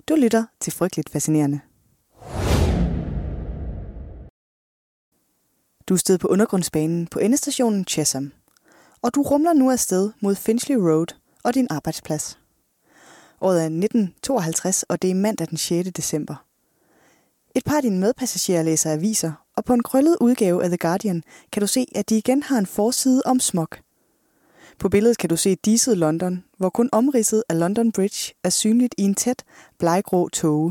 Du lytter til Frygteligt Fascinerende. Du er stedet på undergrundsbanen på endestationen Chesham, og du rumler nu afsted mod Finchley Road og din arbejdsplads. Året er 1952, og det er mandag den 6. december. Et par af dine medpassagerer læser aviser, og på en krøllet udgave af The Guardian kan du se, at de igen har en forside om smog. På billedet kan du se diset London, hvor kun omridset af London Bridge er synligt i en tæt, bleggrå tåge.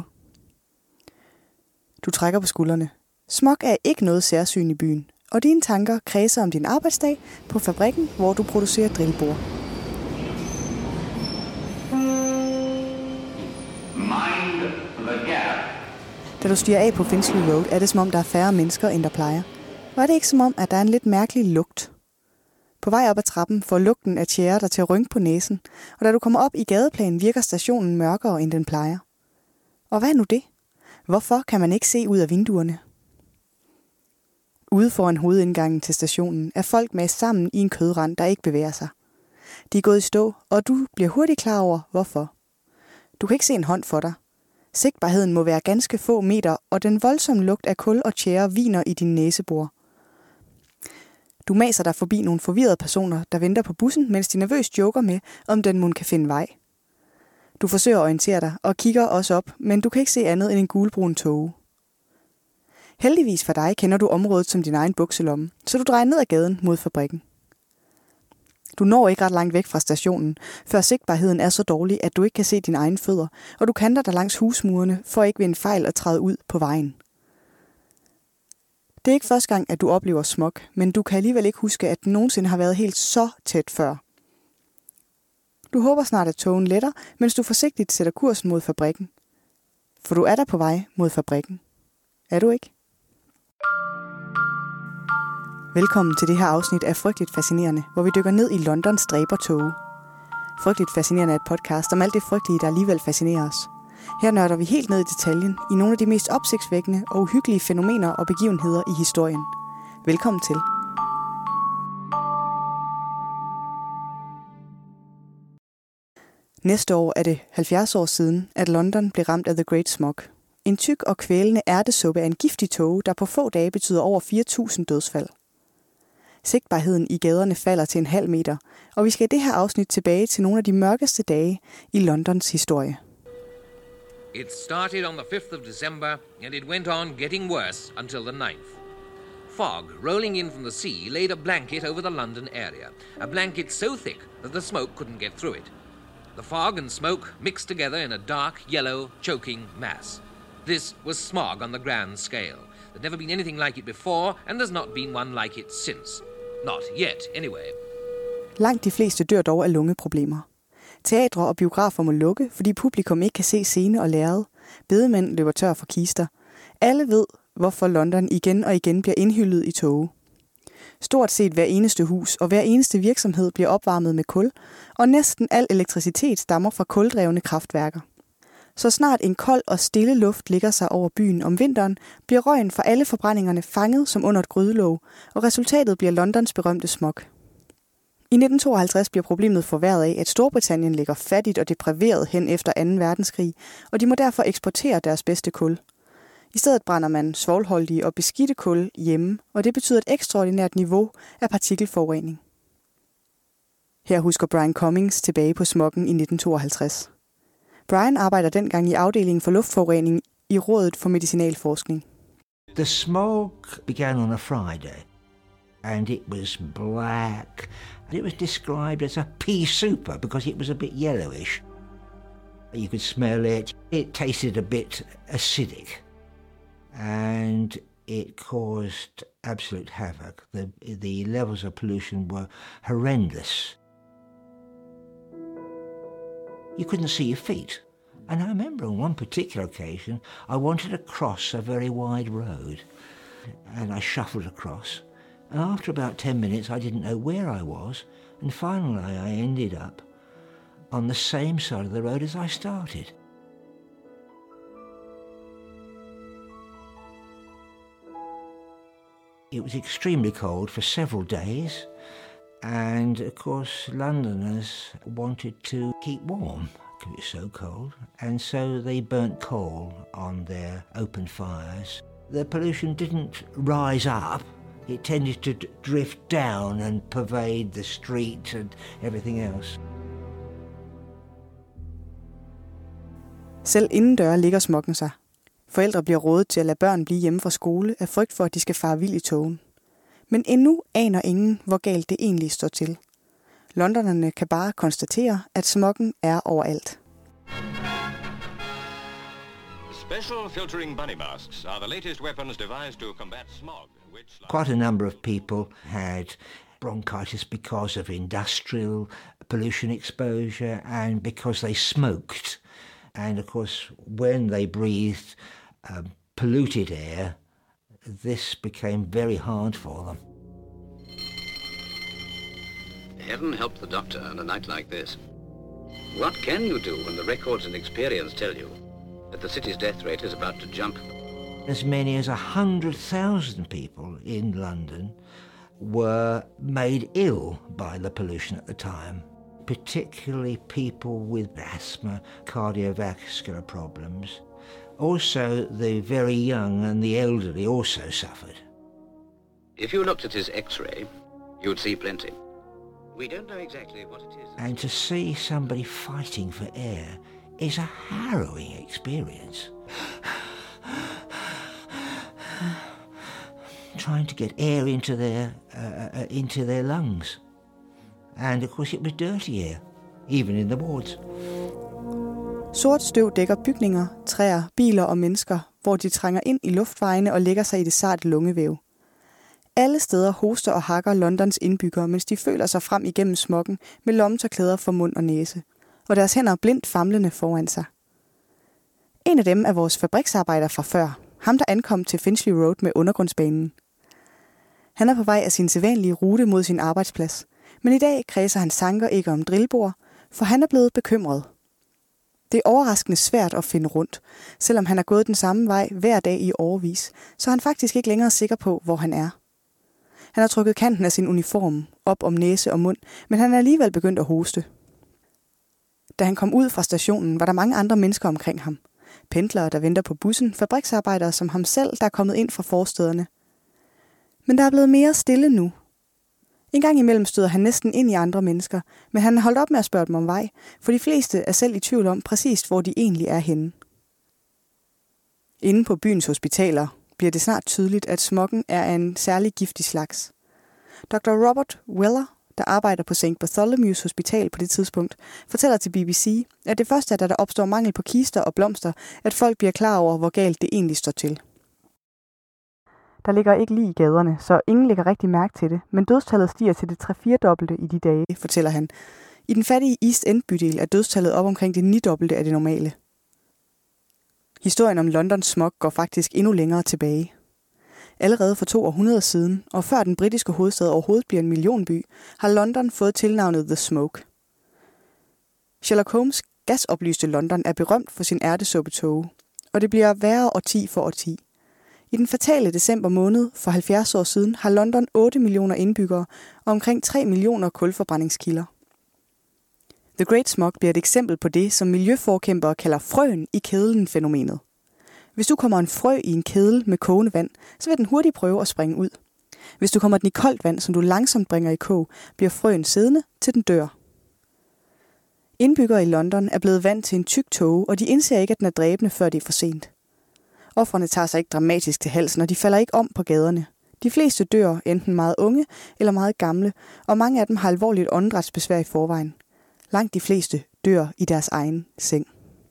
Du trækker på skuldrene. Smog er ikke noget særsyn i byen, og dine tanker kredser om din arbejdsdag på fabrikken, hvor du producerer drillbord. Mind the gap. Da du stiger af på Finchley Road, er det som om, der er færre mennesker, end der plejer. Og er det ikke som om, at der er en lidt mærkelig lugt? På vej op ad trappen får lugten af tjære dig til at rynke på næsen, og da du kommer op i gadeplanen, virker stationen mørkere, end den plejer. Og hvad er nu det? Hvorfor kan man ikke se ud af vinduerne? Ude foran hovedindgangen til stationen er folk med sammen i en kødrand, der ikke bevæger sig. De er gået i stå, og du bliver hurtigt klar over, hvorfor. Du kan ikke se en hånd for dig. Sigtbarheden må være ganske få meter, og den voldsomme lugt af kul og tjære viner i din næsebor. Du maser dig forbi nogle forvirrede personer, der venter på bussen, mens de nervøst joker med, om den mon kan finde vej. Du forsøger at orientere dig og kigger også op, men du kan ikke se andet end en gulbrun tåge. Heldigvis for dig kender du området som din egen bukselomme, så du drejer ned ad gaden mod fabrikken. Du når ikke ret langt væk fra stationen, før sigtbarheden er så dårlig, at du ikke kan se dine egne fødder, og du kanter dig langs husmurene for ikke ved en fejl at træde ud på vejen. Det er ikke første gang, at du oplever smog, men du kan alligevel ikke huske, at den nogensinde har været helt så tæt før. Du håber snart, at togen letter, mens du forsigtigt sætter kursen mod fabrikken. For du er der på vej mod fabrikken. Er du ikke? Velkommen til det her afsnit af Frygteligt Fascinerende, hvor vi dykker ned i Londons dræbertåge. Frygteligt Fascinerende er et podcast om alt det frygtelige, der alligevel fascinerer os. Her nørder vi helt ned i detaljen i nogle af de mest opsigtsvækkende og uhyggelige fænomener og begivenheder i historien. Velkommen til. Næste år er det 70 år siden, at London blev ramt af The Great Smog. En tyk og kvælende ærtesuppe af en giftig tåge, der på få dage betyder over 4.000 dødsfald. Sigtbarheden i gaderne falder til 0,5 meter, og vi skal i det her afsnit tilbage til nogle af de mørkeste dage i Londons historie. It started on the 5th of December, and it went on getting worse until the 9th. Fog, rolling in from the sea, laid a blanket over the London area. A blanket so thick that the smoke couldn't get through it. The fog and smoke mixed together in a dark, yellow, choking mass. This was smog on the grand scale. There'd never been anything like it before, and there's not been one like it since. Not yet, anyway. Langt de fleste dør dog af lungeproblemer. Teatre og biografer må lukke, fordi publikum ikke kan se scene og lærred. Bedemænd løber tør for kister. Alle ved, hvorfor London igen og igen bliver indhyllet i tåge. Stort set hver eneste hus og hver eneste virksomhed bliver opvarmet med kul, og næsten al elektricitet stammer fra kuldrevne kraftværker. Så snart en kold og stille luft ligger sig over byen om vinteren, bliver røgen fra alle forbrændingerne fanget som under et grydelåg, og resultatet bliver Londons berømte smog. I 1952 bliver problemet forværret af, at Storbritannien ligger fattigt og depriveret hen efter 2. verdenskrig, og de må derfor eksportere deres bedste kul. I stedet brænder man svovlholdige og beskidte kul hjemme, og det betyder et ekstraordinært niveau af partikelforurening. Her husker Brian Cummings tilbage på smoggen i 1952. Brian arbejder dengang i afdelingen for luftforurening i Rådet for Medicinalforskning. The smog began on a Friday, and it was black. It was described as a pea souper because it was a bit yellowish. You could smell it. It tasted a bit acidic, and it caused absolute havoc. The levels of pollution were horrendous. You couldn't see your feet. And I remember on one particular occasion, I wanted to cross a very wide road, and I shuffled across. And after about 10 minutes, I didn't know where I was, and finally I ended up on the same side of the road as I started. It was extremely cold for several days, and of course Londoners wanted to keep warm. It was so cold, and so they burnt coal on their open fires. The pollution didn't rise up. It tended to drift down and pervade the street and everything else. Selv indendøre ligger smoggen sig. Forældre bliver rådet til at lade børn blive hjemme fra skole af frygt for, at de skal fare vild i togen. Men endnu aner ingen, hvor galt det egentlig står til. Londonerne kan bare konstatere, at smoggen er overalt. Special filtering bunny masks are the latest weapons devised to combat smog, which... Quite a number of people had bronchitis because of industrial pollution exposure and because they smoked. And of course, when they breathed polluted air, this became very hard for them. Heaven help the doctor on a night like this. What can you do when the records and experience tell you that the city's death rate is about to jump? As many as 100,000 people in London were made ill by the pollution at the time, particularly people with asthma, cardiovascular problems. Also, the very young and the elderly also suffered. If you looked at his X-ray, you'd see plenty. We don't know exactly what it is. And to see somebody fighting for air is a harrowing experience. Trying to get air into their lungs. And of course it was dirty air, even in the wards. Sort støv dækker bygninger, træer, biler og mennesker, hvor de trænger ind i luftvejene og lægger sig i det sarte lungevæv. Alle steder hoster og hakker Londons indbyggere, mens de føler sig frem igennem smoggen med lommetørklæder for mund og næse, og deres hænder blindt famlende foran sig. En af dem er vores fabriksarbejder fra før, ham der ankom til Finchley Road med undergrundsbanen. Han er på vej af sin sædvanlige rute mod sin arbejdsplads, men i dag kredser hans tanker ikke om drillbord, for han er blevet bekymret. Det er overraskende svært at finde rundt, selvom han har gået den samme vej hver dag i årevis, så er han faktisk ikke længere sikker på, hvor han er. Han har trukket kanten af sin uniform op om næse og mund, men han er alligevel begyndt at hoste. Da han kom ud fra stationen, var der mange andre mennesker omkring ham. Pendlere, der venter på bussen, fabriksarbejdere som ham selv, der er kommet ind fra forstederne. Men der er blevet mere stille nu. En gang imellem støder han næsten ind i andre mennesker, men han har holdt op med at spørge dem om vej, for de fleste er selv i tvivl om præcis, hvor de egentlig er henne. Inde på byens hospitaler bliver det snart tydeligt, at smoggen er af en særlig giftig slags. Dr. Robert Weller, der arbejder på St. Bartholomew's Hospital på det tidspunkt, fortæller til BBC, at det første er, da der opstår mangel på kister og blomster, at folk bliver klar over, hvor galt det egentlig står til. Der ligger ikke lige i gaderne, så ingen lægger rigtig mærke til det, men dødstallet stiger til det 3-4-dobbelte i de dage, fortæller han. I den fattige East End-bydel er dødstallet op omkring det 9-dobbelte af det normale. Historien om Londons smog går faktisk endnu længere tilbage. Allerede for 2 århundreder siden, og før den britiske hovedstad overhovedet bliver en millionby, har London fået tilnavnet The Smoke. Sherlock Holmes' gasoplyste London er berømt for sin ærtesuppetåge, og det bliver værre årti for årti. I den fatale december måned for 70 år siden har London 8 millioner indbyggere og omkring 3 millioner kulforbrændingskilder. The Great Smog bliver et eksempel på det, som miljøforkæmpere kalder frøen i kedlen-fænomenet. Hvis du kommer en frø i en kedel med kogende vand, så vil den hurtigt prøve at springe ud. Hvis du kommer den i koldt vand, som du langsomt bringer i kog, bliver frøen siddende, til den dør. Indbyggere i London er blevet vant til en tyk tåge, og de indser ikke, at den er dræbende, før det er for sent. Ofrene tager sig ikke dramatisk til halsen, og de falder ikke om på gaderne. De fleste dør enten meget unge eller meget gamle, og mange af dem har alvorligt åndedrætsbesvær i forvejen. Langt de fleste dør i deres egen seng.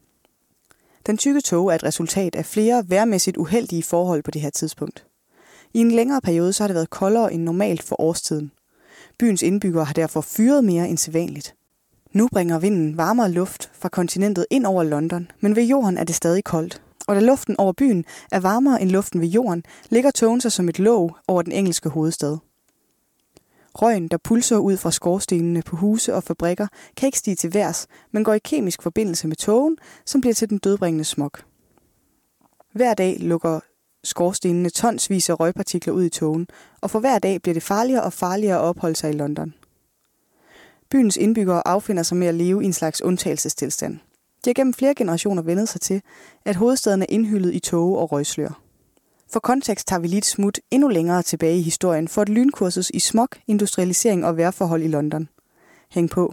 Den tykke tåge er et resultat af flere vejrmæssigt uheldige forhold på det her tidspunkt. I en længere periode så har det været koldere end normalt for årstiden. Byens indbyggere har derfor fyret mere end sædvanligt. Nu bringer vinden varmere luft fra kontinentet ind over London, men ved jorden er det stadig koldt. Og da luften over byen er varmere end luften ved jorden, ligger tågen sig som et låg over den engelske hovedstad. Røgen, der pulser ud fra skorstenene på huse og fabrikker, kan ikke stige til værs, men går i kemisk forbindelse med tågen, som bliver til den dødbringende smog. Hver dag lukker skorstenene tonsvis af røgpartikler ud i tågen, og for hver dag bliver det farligere og farligere at opholde sig i London. Byens indbyggere affinder sig med at leve i en slags undtagelsestilstand. De har gennem flere generationer vendet sig til, at hovedstaden er indhyllet i tåge og røgslør. For kontekst tager vi lige et smut endnu længere tilbage i historien for et lynkursus i smog, industrialisering og vejrforhold i London. Hæng på.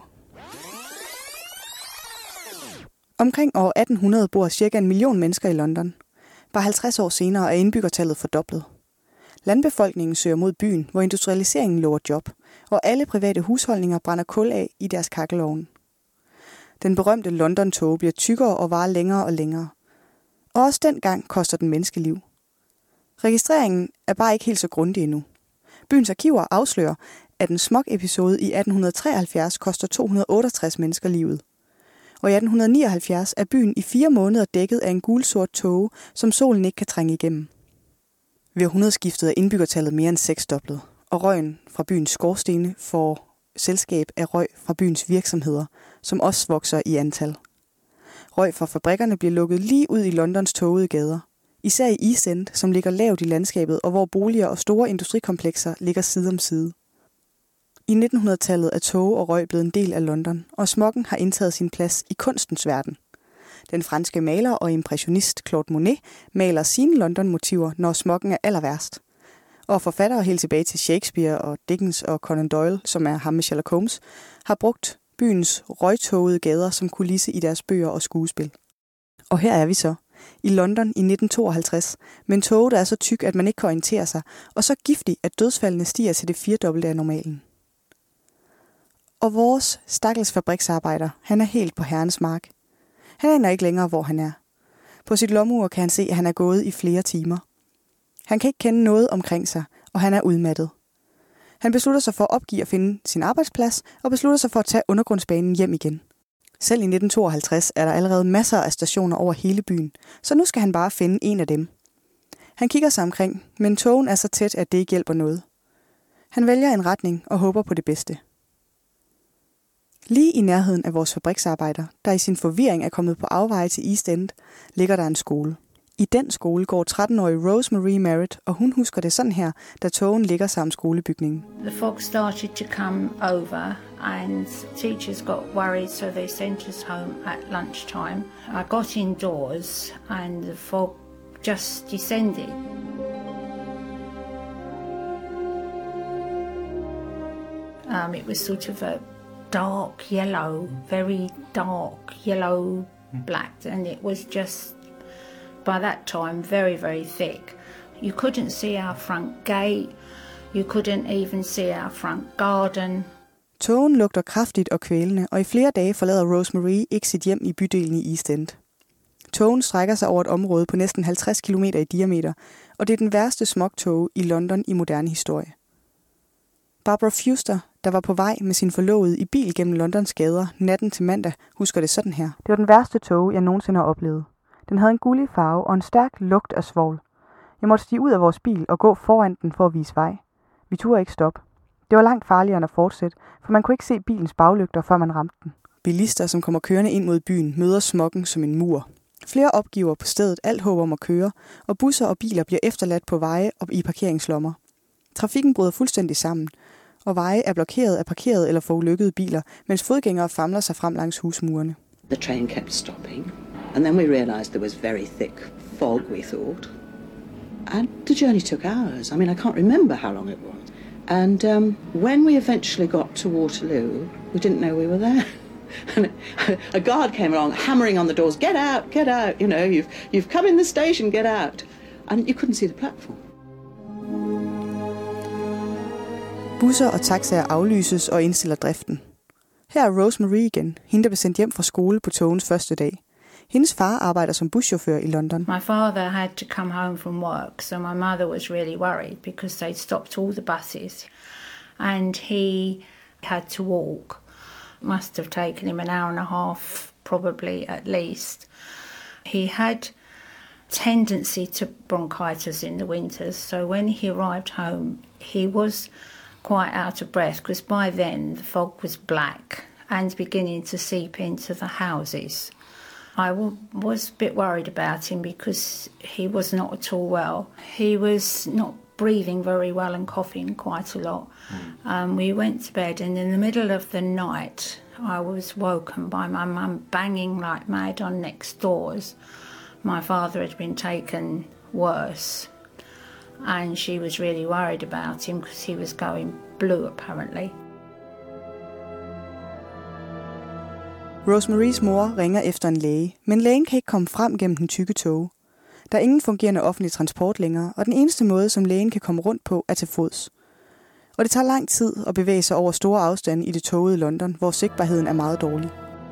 Omkring år 1800 bor ca. 1 million mennesker i London. Bare 50 år senere er indbyggertallet fordoblet. Landbefolkningen søger mod byen, hvor industrialiseringen lover job, og alle private husholdninger brænder kul af i deres kakkelovne. Den berømte London-tåge bliver tykkere og varer længere og længere. Og også dengang koster den menneskeliv. Registreringen er bare ikke helt så grundig endnu. Byens arkiver afslører, at en smog-episode i 1873 koster 268 mennesker livet. Og i 1879 er byen i 4 måneder dækket af en gulsort tåge, som solen ikke kan trænge igennem. Ved århundredeskiftet er indbyggertallet mere end 6-doblet, og røgen fra byens skorstene får selskab af røg fra byens virksomheder, som også vokser i antal. Røg fra fabrikkerne bliver lukket lige ud i Londons tågede gader, især i East End, som ligger lavt i landskabet, og hvor boliger og store industrikomplekser ligger side om side. I 1900-tallet er tåge og røg blevet en del af London, og smoggen har indtaget sin plads i kunstens verden. Den franske maler og impressionist Claude Monet maler sine London-motiver, når smoggen er aller værst. Og forfattere helt tilbage til Shakespeare og Dickens og Conan Doyle, som er ham med Sherlock Holmes, har brugt byens røgtågede gader som kulisse i deres bøger og skuespil. Og her er vi så, i London i 1952, med en tåge, der er så tyk, at man ikke kan orientere sig, og så giftig, at dødsfaldene stiger til det 4-dobbelte af normalen. Og vores stakkels fabriksarbejder, han er helt på herrens mark. Han aner ikke længere, hvor han er. På sit lommeur kan han se, at han er gået i flere timer. Han kan ikke kende noget omkring sig, og han er udmattet. Han beslutter sig for at opgive at finde sin arbejdsplads, og beslutter sig for at tage undergrundsbanen hjem igen. Selv i 1952 er der allerede masser af stationer over hele byen, så nu skal han bare finde en af dem. Han kigger sig omkring, men togen er så tæt, at det ikke hjælper noget. Han vælger en retning og håber på det bedste. Lige i nærheden af vores fabriksarbejder, der i sin forvirring er kommet på afveje til East End, ligger der en skole. I den skole går 13-årige Rosemary Merritt, og hun husker det sådan her, da togen ligger sammen skolebygningen. The fog started to come over and teachers got worried, so they sent us home at lunchtime. I got indoors and the fog just descended. It was sort of a dark yellow, very dark yellow black, and it was just by that time very, very thick. You couldn't see our front gate, you couldn't even see our front garden. Tågen lugter kraftigt og kvælende, og i flere dage forlader Rosemary ikke sit hjem i bydelen i East End. Tågen strækker sig over et område på næsten 50 km i diameter, og det er den værste smogtåge i London i moderne historie. Barbara Fuster, der var på vej med sin forlovede i bil gennem Londons gader natten til mandag, husker det sådan her. Det var den værste tåge, jeg nogensinde har oplevet. Den havde en gullig farve og en stærk lugt af svovl. Jeg måtte stige ud af vores bil og gå foran den for at vise vej. Vi turde ikke stoppe. Det var langt farligere end at fortsætte, for man kunne ikke se bilens baglygter, før man ramte den. Bilister, som kommer kørende ind mod byen, møder smoggen som en mur. Flere opgiver på stedet alt håb om at køre, og busser og biler bliver efterladt på veje og i parkeringslommer. Trafikken bryder fuldstændig sammen, og veje er blokeret af parkerede eller forulykkede biler, mens fodgængere famler sig frem langs husmurene. The train kept stopping, and then we realized there was very thick fog, we thought. And the journey took hours. I mean, I can't remember how long it was. And when we eventually got to Waterloo, we didn't know we were there. And a guard came along, hammering on the doors, get out, you know, you've come in the station, get out. And you couldn't see the platform. Busser og taxaer aflyses og indstiller driften. Her er Rosemary igen, hende der blev sendt hjem fra skole på togens første dag. Hendes far arbejder som buschauffør i London. My father had to come home from work, so my mother was really worried because they'd stopped all the buses and he had to walk. Must have taken him an hour and a half, probably at least. He had tendency to bronchitis in the winters, so when he arrived home, he was quite out of breath because by then the fog was black and beginning to seep into the houses. I was a bit worried about him because he was not at all well. He was not breathing very well and coughing quite a lot. We went to bed, and in the middle of the night I was woken by my mum banging like mad on next doors. My father had been taken worse, and she was really worried about him because he was going blue apparently. Rosemaries mor ringer efter en læge, men lægen kan ikke komme frem gennem den tykke tåge. Der er ingen fungerende offentlig transport længere, og den eneste måde, som lægen kan komme rundt på, er til fods. Og det tager lang tid at bevæge sig over store afstande i det tågede London, hvor sigtbarheden er meget dårlig.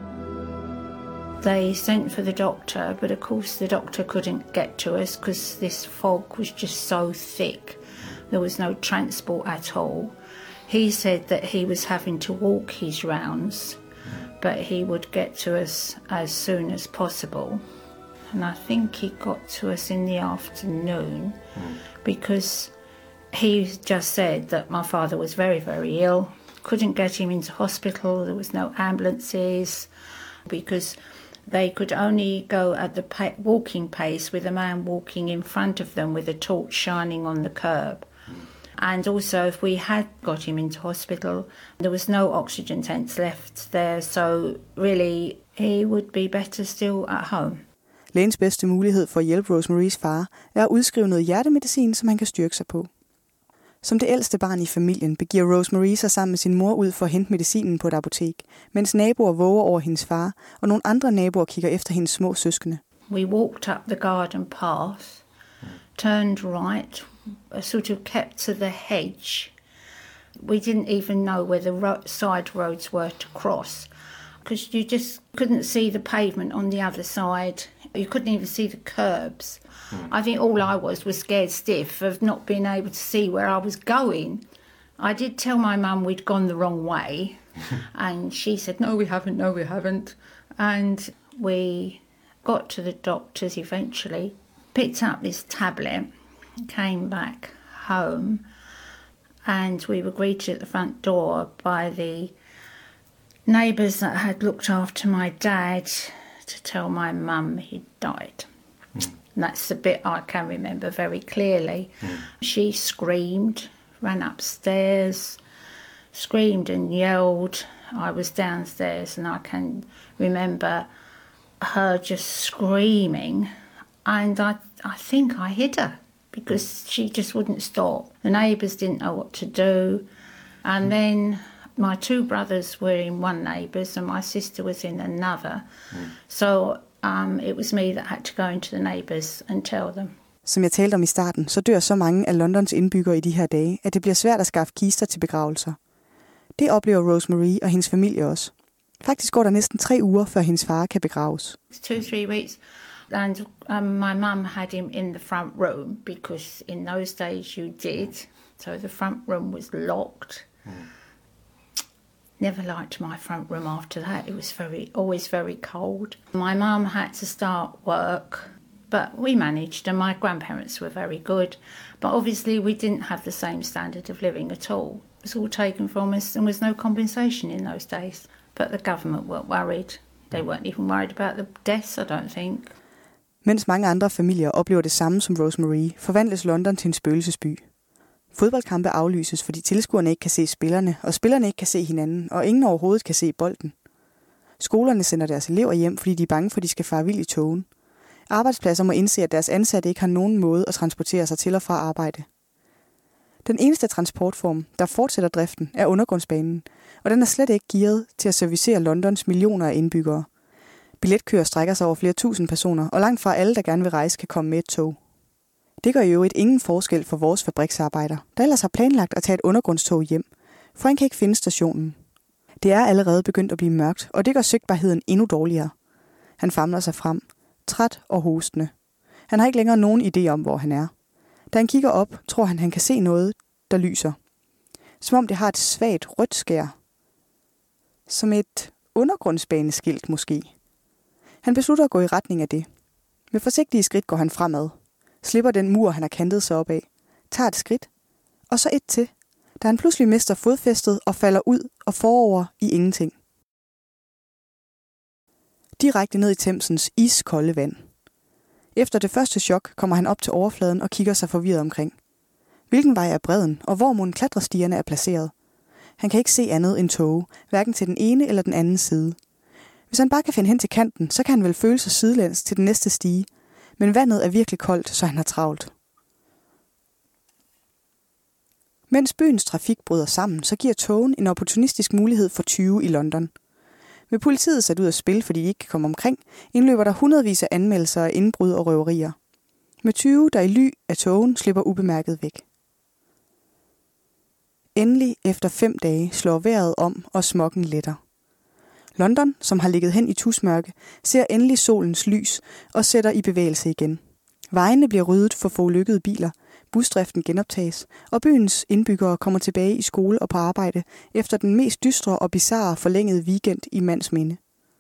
They sent for the doctor, but of course the doctor couldn't get to us because this fog was just so thick. There was no transport at all. He said that he was having to walk his rounds, but he would get to us as soon as possible. And I think he got to us in the afternoon because he just said that my father was very, very ill. Couldn't get him into hospital. There was no ambulances because they could only go at the walking pace with a man walking in front of them with a torch shining on the curb. And also, if we had got him into hospital, there was no oxygen tents left there, so really he would be better still at home. Lægens bedste mulighed for at hjælpe Rosemaries far er at udskrive noget hjertemedicin, som han kan styrke sig på. Som det ældste barn i familien begiver Rosemarie sig sammen med sin mor ud for at hente medicinen på et apotek, mens naboer våger over hendes far, og nogle andre naboer kigger efter hendes små søskende. We walked up the garden path, turned right, sort of kept to the hedge. We didn't even know where the side roads were to cross, because you just couldn't see the pavement on the other side. You couldn't even see the curbs. I think all I was scared stiff of not being able to see where I was going. I did tell my mum we'd gone the wrong way, and she said, no, we haven't. And we got to the doctors eventually, picked up this tablet, came back home, and we were greeted at the front door by the neighbours that had looked after my dad to tell my mum he'd died. And that's the bit I can remember very clearly. She screamed, ran upstairs, screamed and yelled. I was downstairs and I can remember her just screaming, and I think I hit her because she just wouldn't stop. The neighbours didn't know what to do, and then my two brothers were in one neighbour's and my sister was in another. So it was me that had to go into the neighbours and tell them. Som jeg talte om i starten, så dør så mange af Londons indbyggere i de her dage, at det bliver svært at skaffe kister til begravelser. Det oplever Rosemarie og hendes familie også. Faktisk går der næsten 3 uger, før hendes far kan begraves. 2-3 weeks. And my mum had him in the front room because in those days you did. So the front room was locked. Never liked my front room after that. It was always very cold. My mum had to start work, but we managed, and my grandparents were very good. But obviously we didn't have the same standard of living at all. It was all taken from us and was no compensation in those days. But the government weren't worried. They weren't even worried about the deaths, I don't think. Mens mange andre familier oplever det samme som Rosemarie, forvandles London til en spøgelsesby. Fodboldkampe aflyses, fordi tilskuerne ikke kan se spillerne, og spillerne ikke kan se hinanden, og ingen overhovedet kan se bolden. Skolerne sender deres elever hjem, fordi de er bange for, at de skal fare vild i togen. Arbejdspladser må indse, at deres ansatte ikke har nogen måde at transportere sig til og fra arbejde. Den eneste transportform, der fortsætter driften, er undergrundsbanen, og den er slet ikke gearet til at servicere Londons millioner af indbyggere. Billetkøer strækker sig over flere tusind personer, og langt fra alle, der gerne vil rejse, kan komme med et tog. Det gør jo ingen forskel for vores fabriksarbejder, der ellers har planlagt at tage et undergrundstog hjem, for han kan ikke finde stationen. Det er allerede begyndt at blive mørkt, og det gør sigtbarheden endnu dårligere. Han famler sig frem, træt og hostende. Han har ikke længere nogen idé om, hvor han er. Da han kigger op, tror han kan se noget, der lyser. Som om det har et svagt rødt skær. Som et undergrundsbaneskilt måske. Han beslutter at gå i retning af det. Med forsigtige skridt går han fremad. Slipper den mur, han har kantet sig op af. Tager et skridt. Og så et til. Da han pludselig mister fodfæstet og falder ud og forover i ingenting. Direkte ned i Themsens iskolde vand. Efter det første chok kommer han op til overfladen og kigger sig forvirret omkring. Hvilken vej er bredden, og hvor mon klatrestierne er placeret? Han kan ikke se andet end tåge, hverken til den ene eller den anden side. Hvis han bare kan finde hen til kanten, så kan han vel føle sig sidelæns til den næste stige. Men vandet er virkelig koldt, så han har travlt. Mens byens trafik bryder sammen, så giver togen en opportunistisk mulighed for tyve i London. Med politiet sat ud af spil, fordi de ikke kan komme omkring, indløber der hundredvis af anmeldelser af indbrud og røverier. Med 20, der i ly af togen slipper ubemærket væk. Endelig efter 5 dage slår vejret om, og smoggen letter. London, som har ligget hen i tusmørke, ser endelig solens lys og sætter i bevægelse igen. Vejene bliver ryddet for forulykkede biler, busdriften genoptages, og byens indbyggere kommer tilbage i skole og på arbejde efter den mest dystre og bizarre forlængede weekend i mands minde.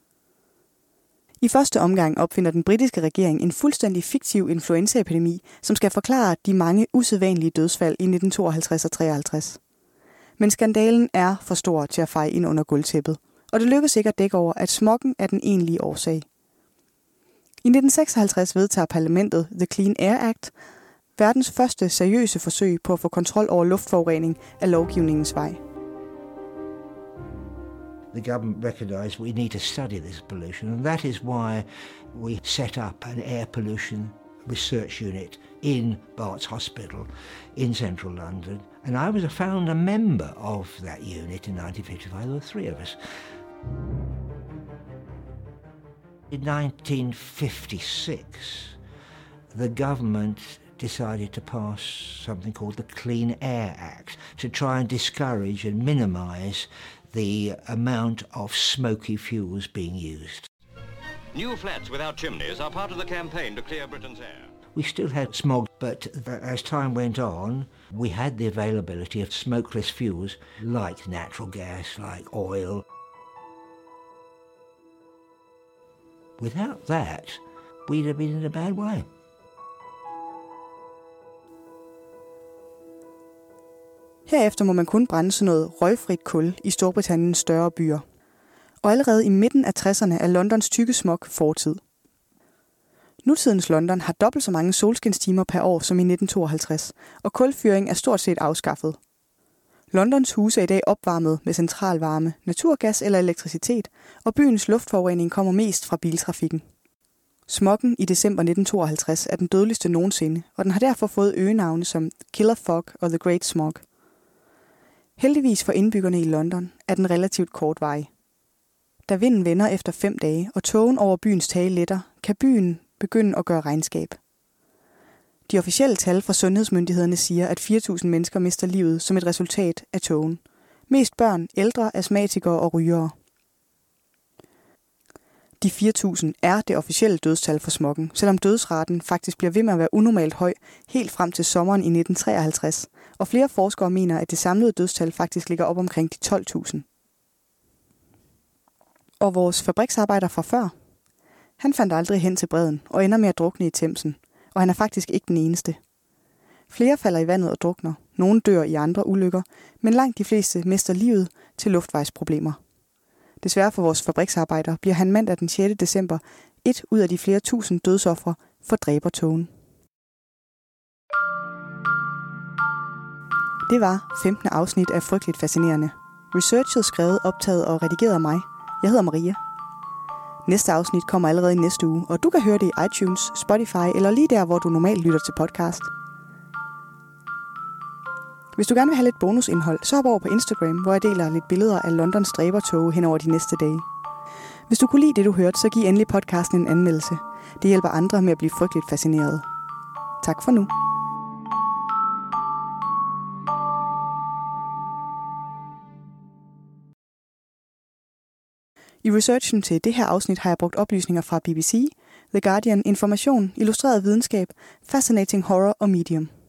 I første omgang opfinder den britiske regering en fuldstændig fiktiv influenzaepidemi, som skal forklare de mange usædvanlige dødsfald i 1952 og 53. Men skandalen er for stor til at feje ind under gulvtæppet, og det lykkes ikke at dække over, at smoggen er den egentlige årsag. I 1956 vedtager parlamentet The Clean Air Act, verdens første seriøse forsøg på at få kontrol over luftforurening af lovgivningens vej. The government recognised we need to study this pollution, and that is why we set up an air pollution research unit in Barts Hospital in central London, and I was found a member of that unit in 1955. There were 3 of us. In 1956, the government decided to pass something called the Clean Air Act to try and discourage and minimise the amount of smoky fuels being used. New flats without chimneys are part of the campaign to clear Britain's air. We still had smog, but as time went on, we had the availability of smokeless fuels like natural gas, like oil. Without that, we'd have been in a bad way. Herefter må man kun brænde sådan noget røgfrit kul i Storbritanniens større byer. Og allerede i midten af 60'erne er Londons tykke smog fortid. Nutidens London har dobbelt så mange solskinstimer per år som i 1952, og kulfyring er stort set afskaffet. Londons huse er i dag opvarmet med centralvarme, naturgas eller elektricitet, og byens luftforurening kommer mest fra biltrafikken. Smoggen i december 1952 er den dødeligste nogensinde, og den har derfor fået øgenavne som Killer Fog og The Great Smog. Heldigvis for indbyggerne i London er den relativt kortvarig. Da vinden vender efter 5 dage, og tågen over byens tage letter, kan byen begynde at gøre regnskab. De officielle tal fra sundhedsmyndighederne siger, at 4.000 mennesker mister livet som et resultat af tågen. Mest børn, ældre, astmatikere og rygere. De 4.000 er det officielle dødstal for smoggen, selvom dødsraten faktisk bliver ved med at være unormalt høj helt frem til sommeren i 1953, og flere forskere mener, at det samlede dødstal faktisk ligger op omkring de 12.000. Og vores fabriksarbejder fra før? Han fandt aldrig hen til bredden og ender med at drukne i Themsen, og han er faktisk ikke den eneste. Flere falder i vandet og drukner, nogle dør i andre ulykker, men langt de fleste mister livet til luftvejsproblemer. Desværre for vores fabriksarbejder bliver han mandag den 6. december 1 ud af de flere tusind dødsofre for dræbertogen. Det var 15. afsnit af Frygteligt Fascinerende. Researchet, skrevet, optaget og redigeret af mig. Jeg hedder Maria. Næste afsnit kommer allerede i næste uge, og du kan høre det i iTunes, Spotify eller lige der, hvor du normalt lytter til podcast. Hvis du gerne vil have lidt bonusindhold, så hop over på Instagram, hvor jeg deler lidt billeder af Londons dræbertoge hen over de næste dage. Hvis du kunne lide det, du hørte, så giv endelig podcasten en anmeldelse. Det hjælper andre med at blive frygteligt fascineret. Tak for nu. I researchen til det her afsnit har jeg brugt oplysninger fra BBC, The Guardian, Information, Illustreret Videnskab, Fascinating Horror og Medium.